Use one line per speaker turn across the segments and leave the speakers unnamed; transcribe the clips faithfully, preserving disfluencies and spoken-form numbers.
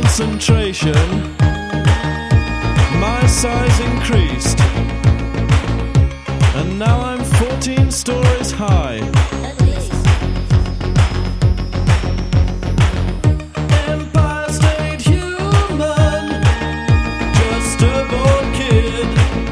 concentration, my size increased, and now I'm fourteen stories high. Empire State Human, just a bored kid.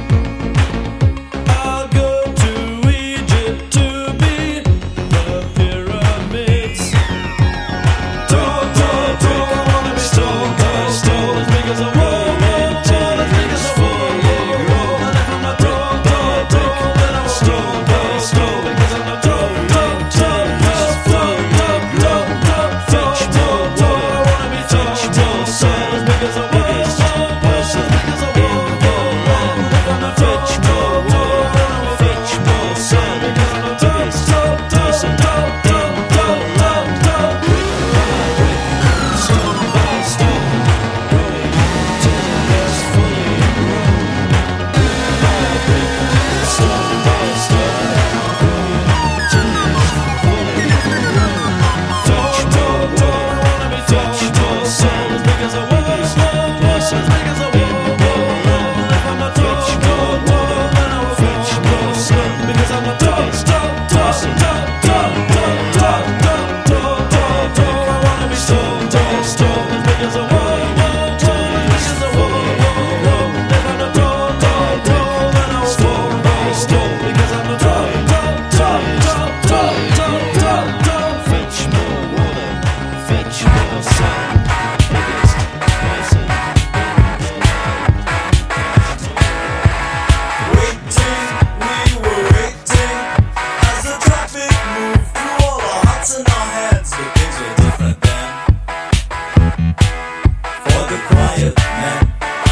I'll go to Egypt to be the pyramids. Tall, tall, tall, I wanna be tall, tall, tall, as big as a wall, wall, wall, as big as a wall, wall, wall. And if I'm a tall, tall, tall, then I'm tall, tall, tall, because I'm a tall, tall, tall, tall, tall, tall, tall, tall, tall, tall, tall. I wanna be tall, tall, tall, as big as a wall, wall, wall, as big as a wall, wall, wall. And if I'm a tall, tall, tall, then I'm a fetch more sun, because I'm a tall, tall, tall, tall, tall, tall, tall, tall. Stone by stone, growing till it's fully grown. Stone by stone, growing till it's fully grown. Tall, tall, tall, I wanna be tall, tall, tall, as big as a wall, wall, wall, as big as a wall, wall, wall. And if I'm a tall, tall, tall, then I will fetch more sun, because I'm a tall, tall, tall, tall, tall, tall, tall, tall, tall, tall, tall. I wanna be tall, tall, tall, as big as a wall, wall, wall, as big as a wall, wall, wall. And if I'm a tall, tall, tall, then I will fall by stone, because I'm a tall, tall, tall, tall, tall, tall, tall, tall. Fetch more water, fetch more sun, biggest person.
Waiting, we were waiting as the traffic moved through all our hearts and our heads. But things were different then for the quiet men.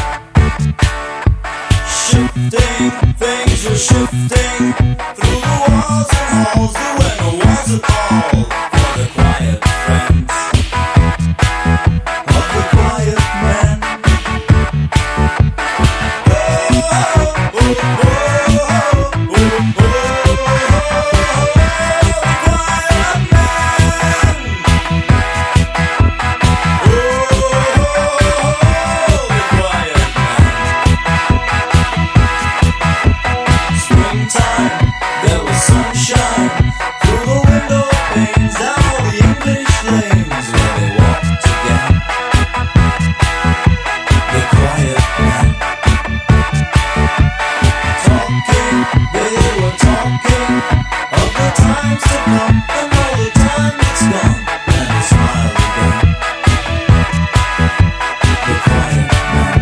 Shifting, things were shifting through the walls and halls. There were no walls at all for the quiet friends of the quiet men. Springtime, there was sunshine through the window panes, down all the English lanes where they walked again. The quiet men talking, they were talking of the times to come and all the time that's gone, and they smiled again. The quiet men.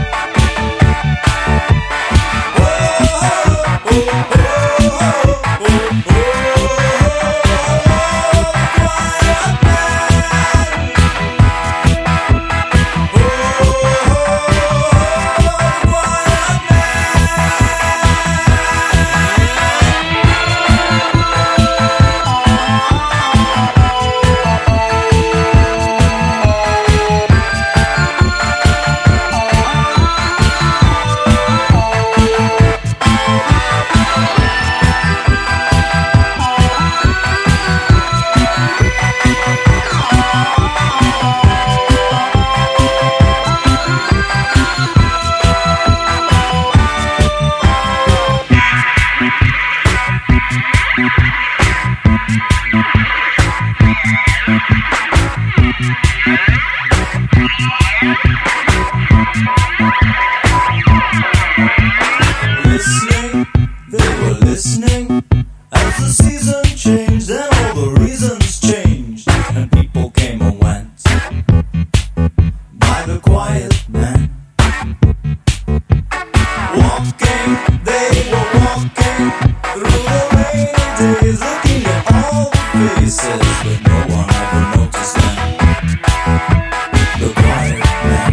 Listening, they were listening as the season changed and all the reasons changed, and people came and went by the quiet men. Walking, they were walking through the rainy days, looking at all the faces, but no one ever noticed them. The quiet men.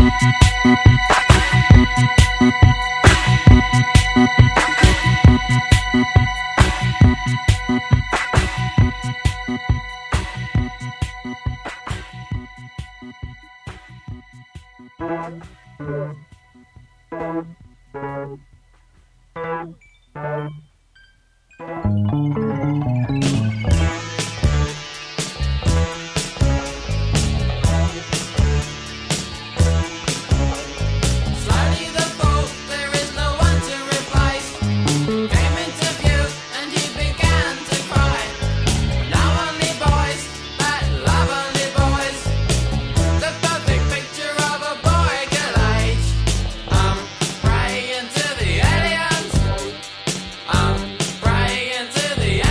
Praying to the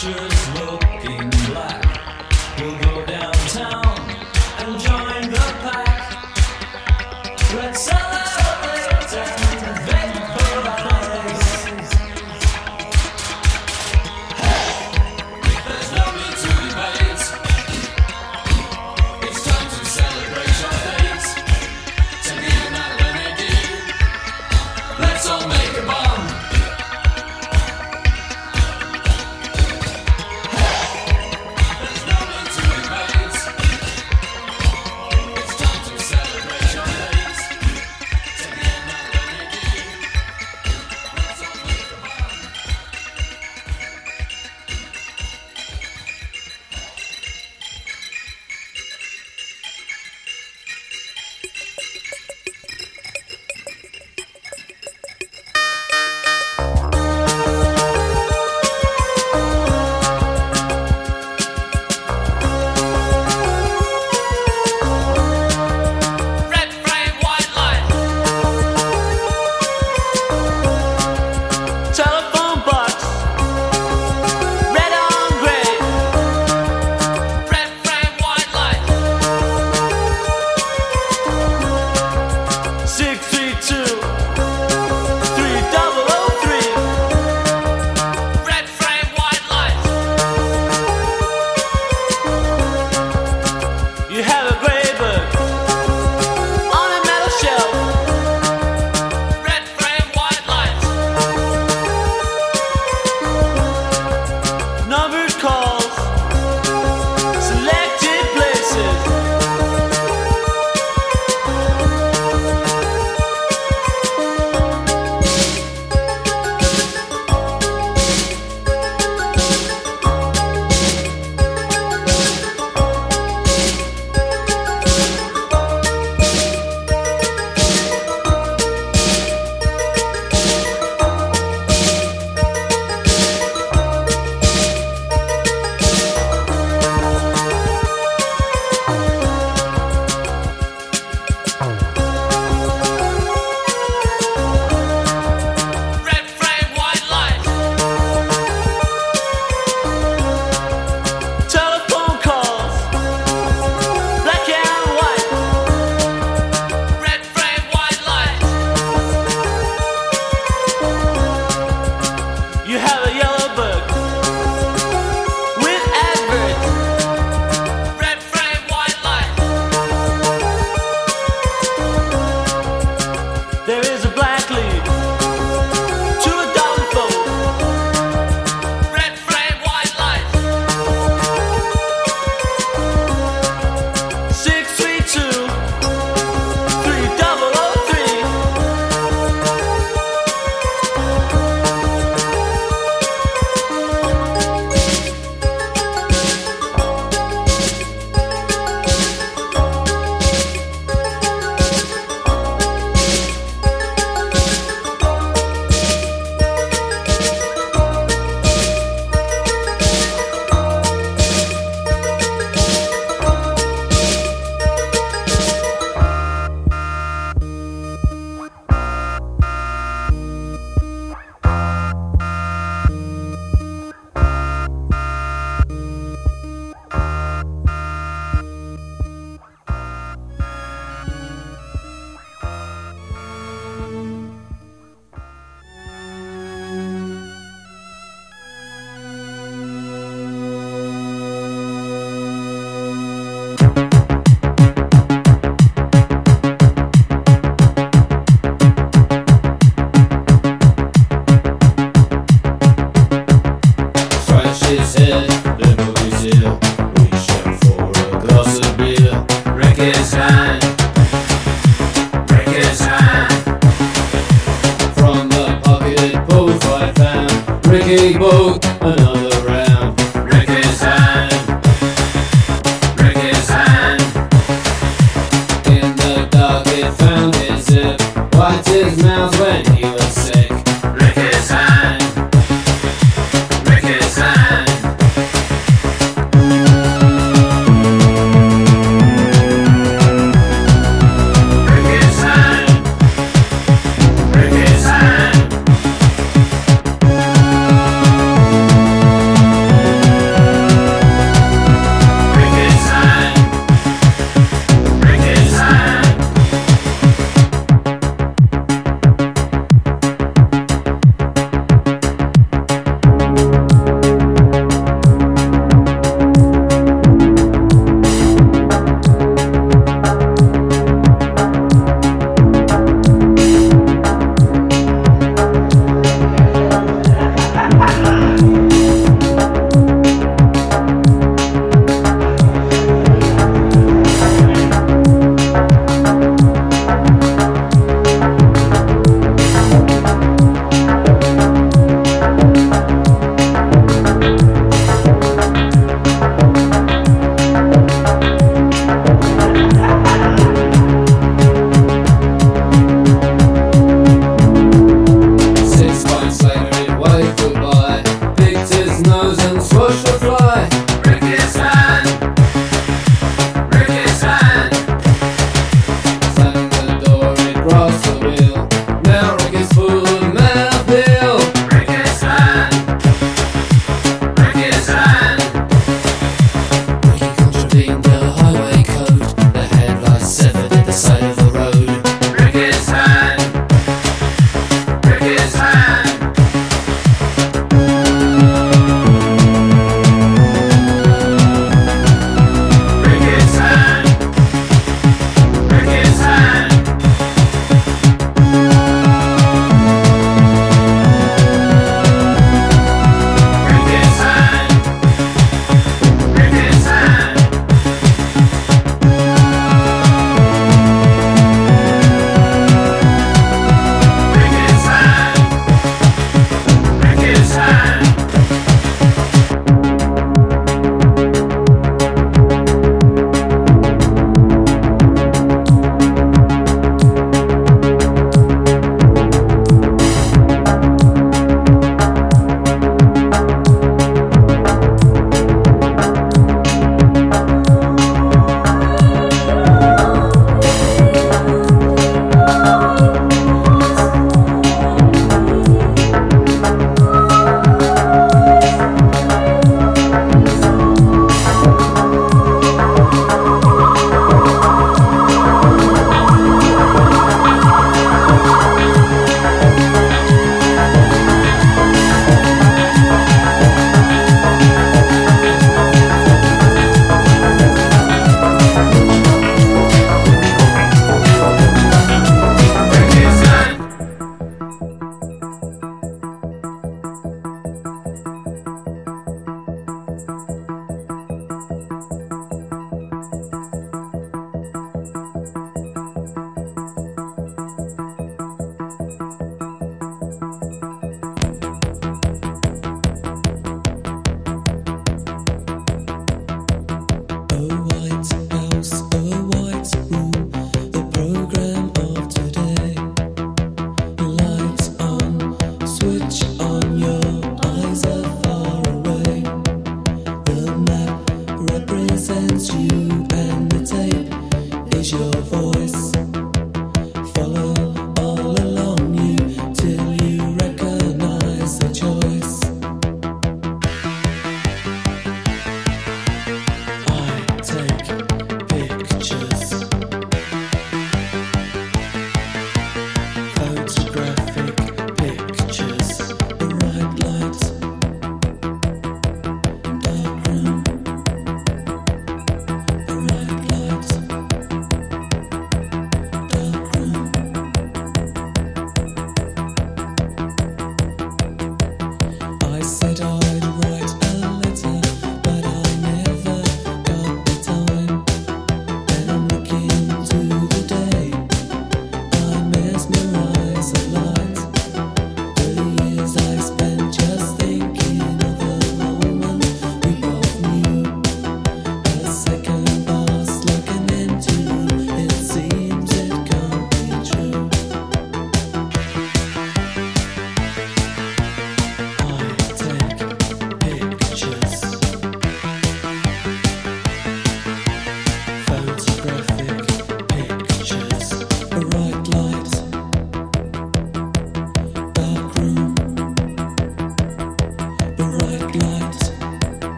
pictures looking black. We'll go downtown and join the pack. Let's celebrate and vaporize.
There's no need to debate. It's time to celebrate your fate. To be an identity. Let's all make a bomb. There's no need to debate. It's time to celebrate your fate. To be an identity. Let's all make a bomb. Red frame, white light.
Telephone box, red on gray.
Red frame, white light.
Six three two, three double oh three.
Red frame, white light.
You have a gray book on a metal shelf.
Red frame, white light.
Numbered calls, selected places.
Red frame, white light.
Telephone calls, black and white.
Red frame, white light.
You have a yellow book with adverts.
Red frame, white light.
There is a black lead to a dollar fold.
Red frame, white light.
Six three two, three double oh three.
Scratch his head, the movie's here. Reach out for a glass of beer. Wreck his hand, wreck his hand. From the pocket pulled five pound. Ricky boat, another round. Wreck his hand, wreck his hand. In the dark it found his zip. Wiped his mouth when he was sick. Wreck his hand, wreck his hand. Wreck his hand, wreck his hand.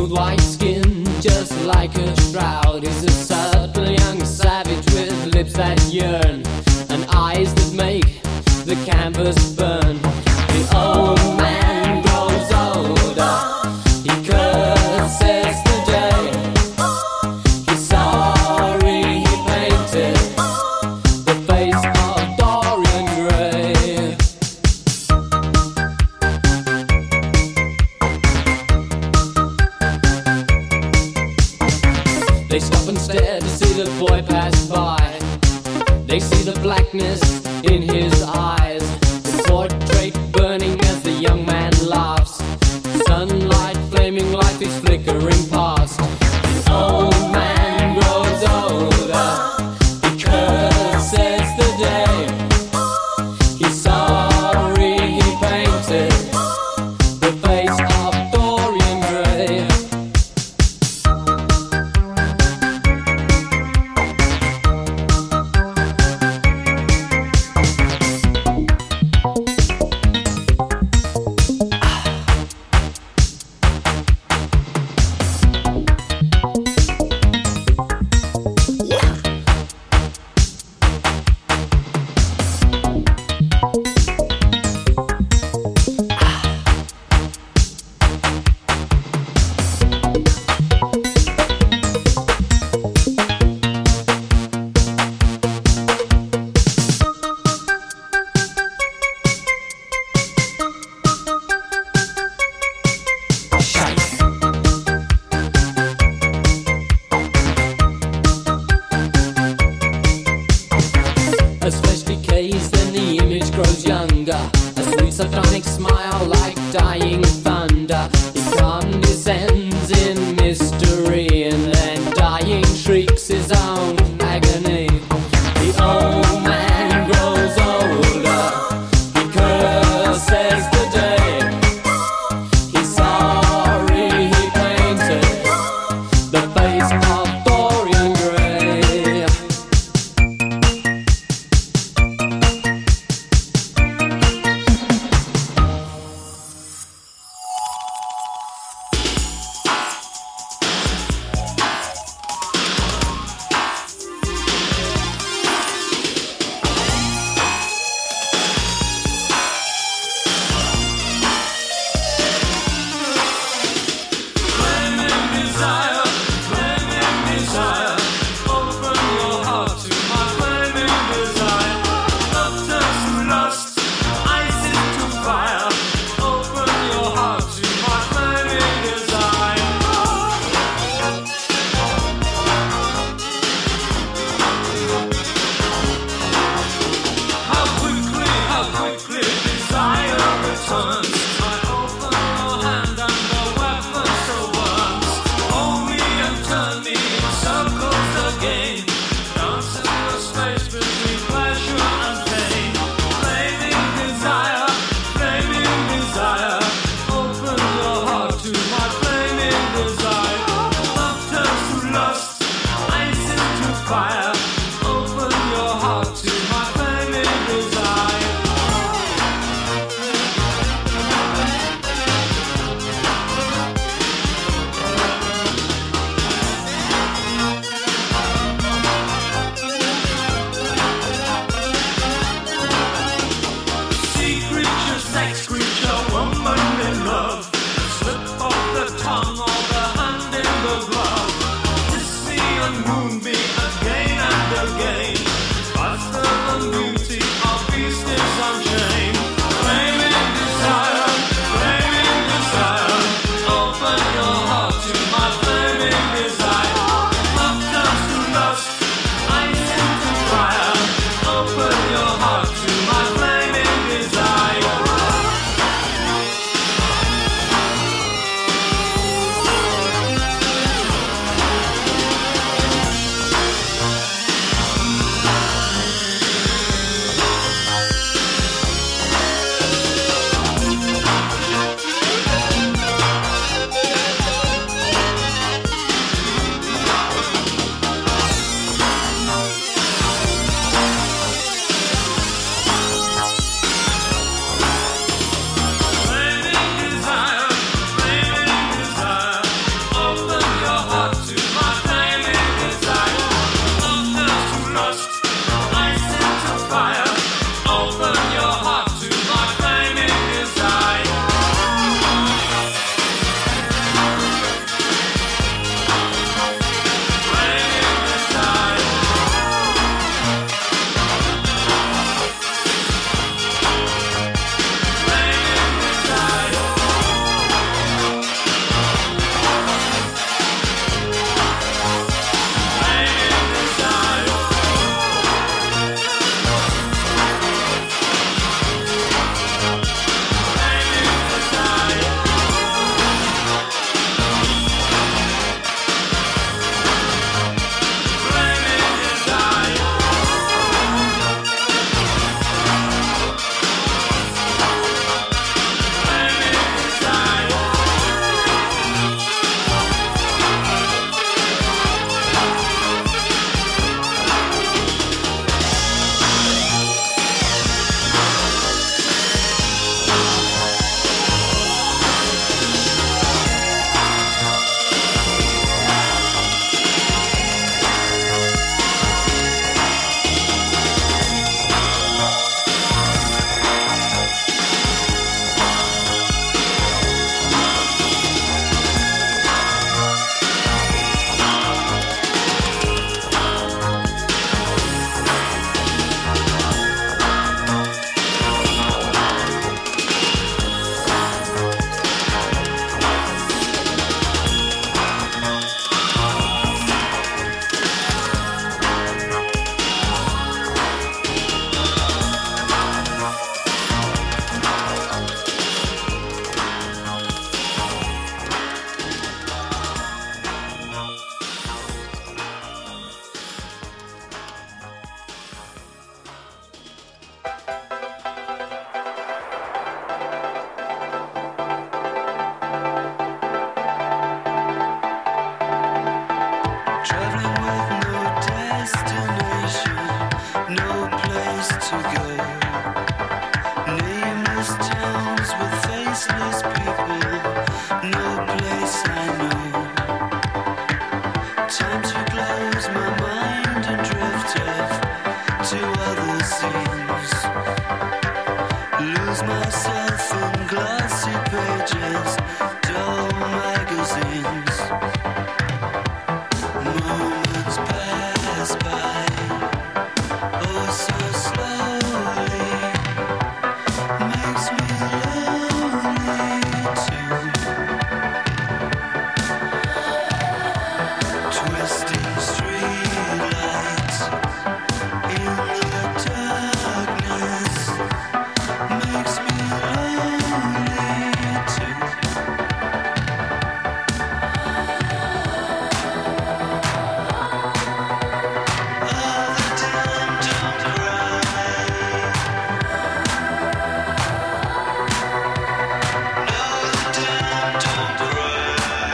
smooth white skin, just like a shroud. He's a subtle young savage with lips that yearn and eyes that make the canvas burn. The old man grows older, he curses the day. He's sorry he painted the face of Dorian Gray. They stop and stare to see the boy pass by. They see the blackness in his eyes, the portrait burning as the young man laughs. Sunlight flaming, life is flickering past. The old man grows older, he curses the day. He's sorry he painted the face of Dorian Gray. As flesh decays, then the image grows younger. A sweet sardonic smile like dying thunder. He condescends in mystery and then dying shrieks his own agony. The old man grows older, he curses the day. He's sorry he painted the face of Dorian Gray.
place to go. Nameless towns with faceless people. No place I know. Time to close my mind and drift off to other scenes. Lose myself in glossy pages, dull magazines. Moments pass by, oh so slowly. Makes me lonely too. Twisting streetlights in the darkness makes me lonely too. All the time, don't cry. No, the time, don't cry.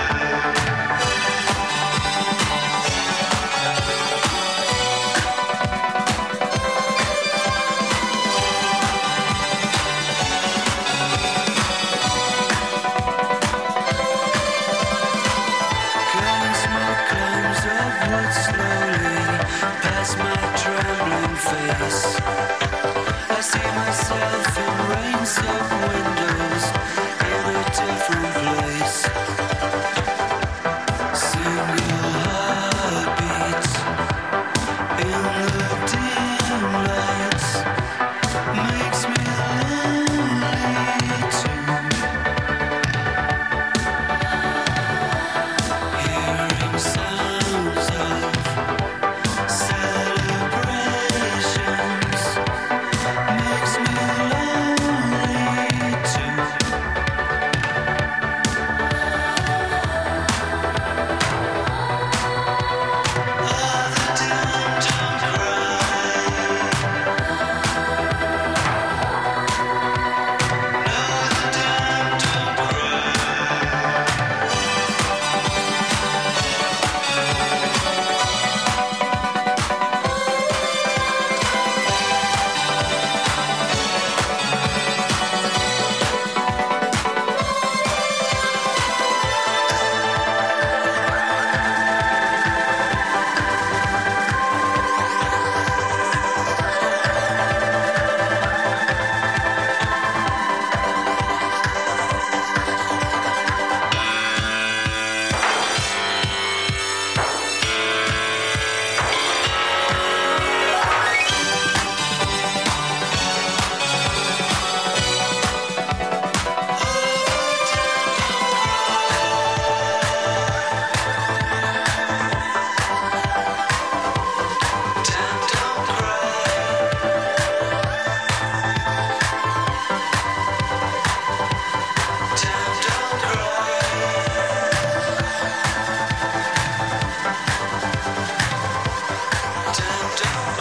Cutting smoke climbs upward slowly past my trembling face. I see myself in rain-soaked windows in a different place. Single heartbeat in the dim lights makes me lonely too. Hearing sounds of celebrations makes me lonely too. All the time, don't cry. No, the time, don't cry. Time, don't cry. Time, don't cry. Time, don't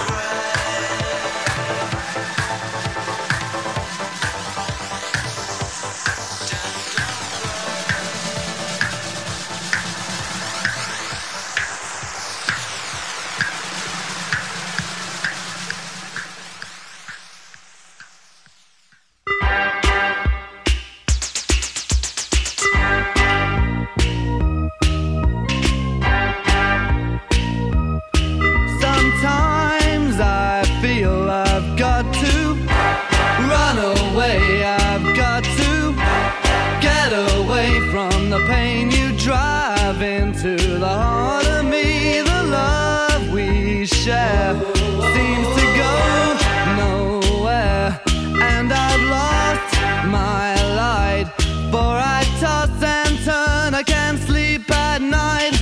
Sometimes I feel I've got to run away. I've got to get away from the pain you drive into the heart of me. The love we share seems to go nowhere, and I've lost my light. For I toss and turn, I can't sleep at night.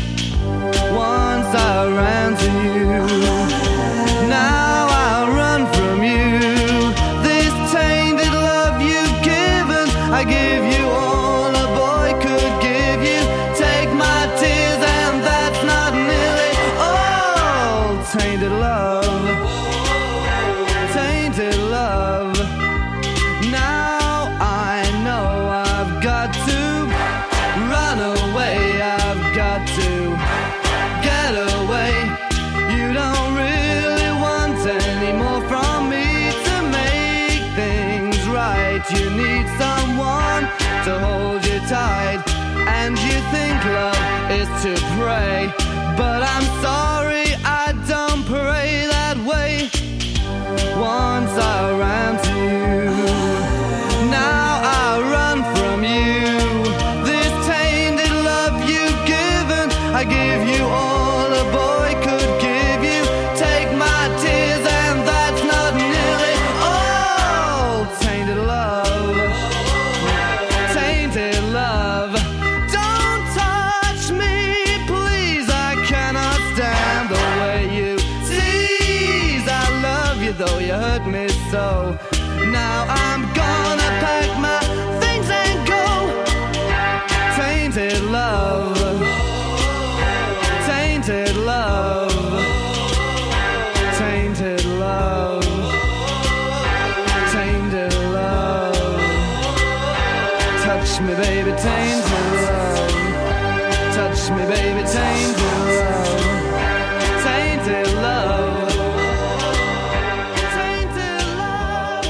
Once I ran to you, now I'll run from you. night you need someone to hold you tight, and you think love is to pray, but I'm sorry, I don't pray that way. Once I ran to you, now I run from you. This tainted love you've given, I give you all a boy could give you. Take my tears and that's not nearly all. Tainted love, tainted love. Don't touch me, please, I cannot stand the way you tease. I love you though you hurt me so. Now I'm gonna pack my things and go. Tainted love, tainted love, tainted love, tainted love. Touch me, baby, tainted love. Touch me, baby, tainted love. Tainted love. Tainted love.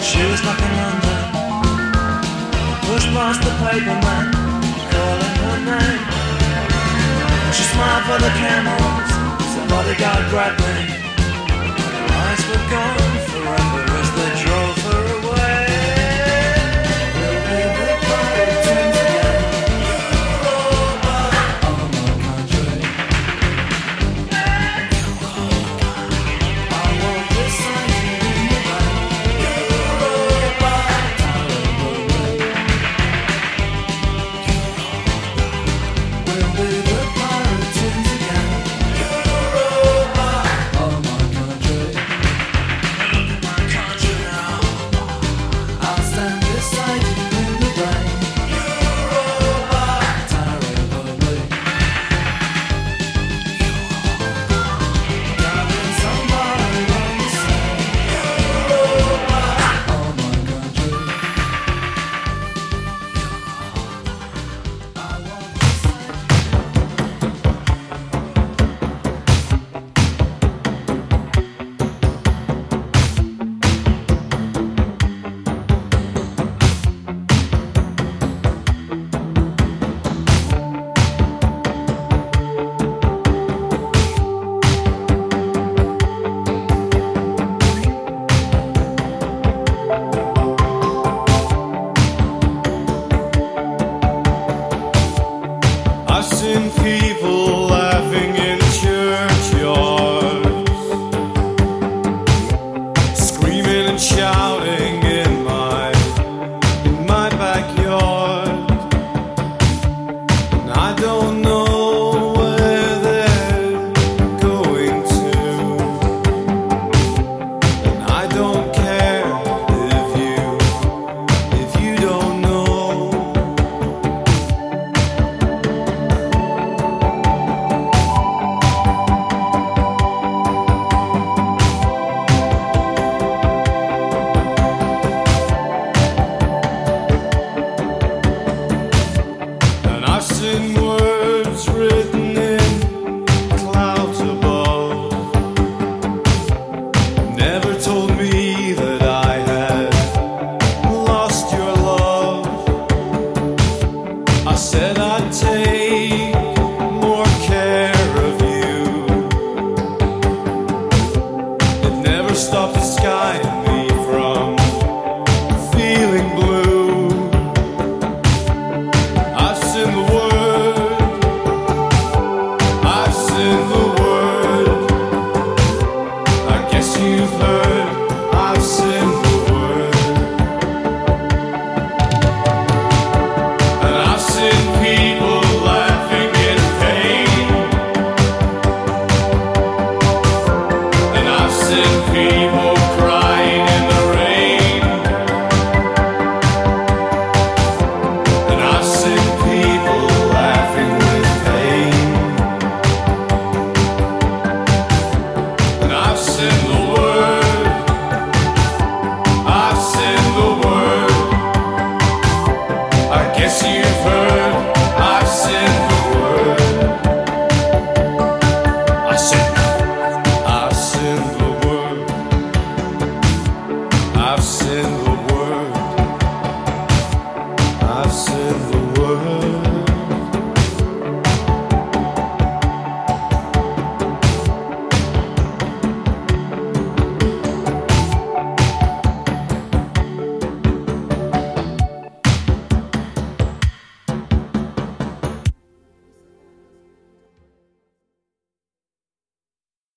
She was back in London, pushed past the paperman, calling her name. She smiled for the camels, the bodyguard grabbed me. Her eyes were gone forever as they drove her away. We'll be the pirate twins again. Europa, oh my country. I want this life in the rain. Europa, we'll be the pirate twins again. Europa, oh my country. Look at my country now. I'll stand beside you in the rain. Europa, terribly. Darling, somebody once said, Europa, oh my country. I want this life.
I've seen people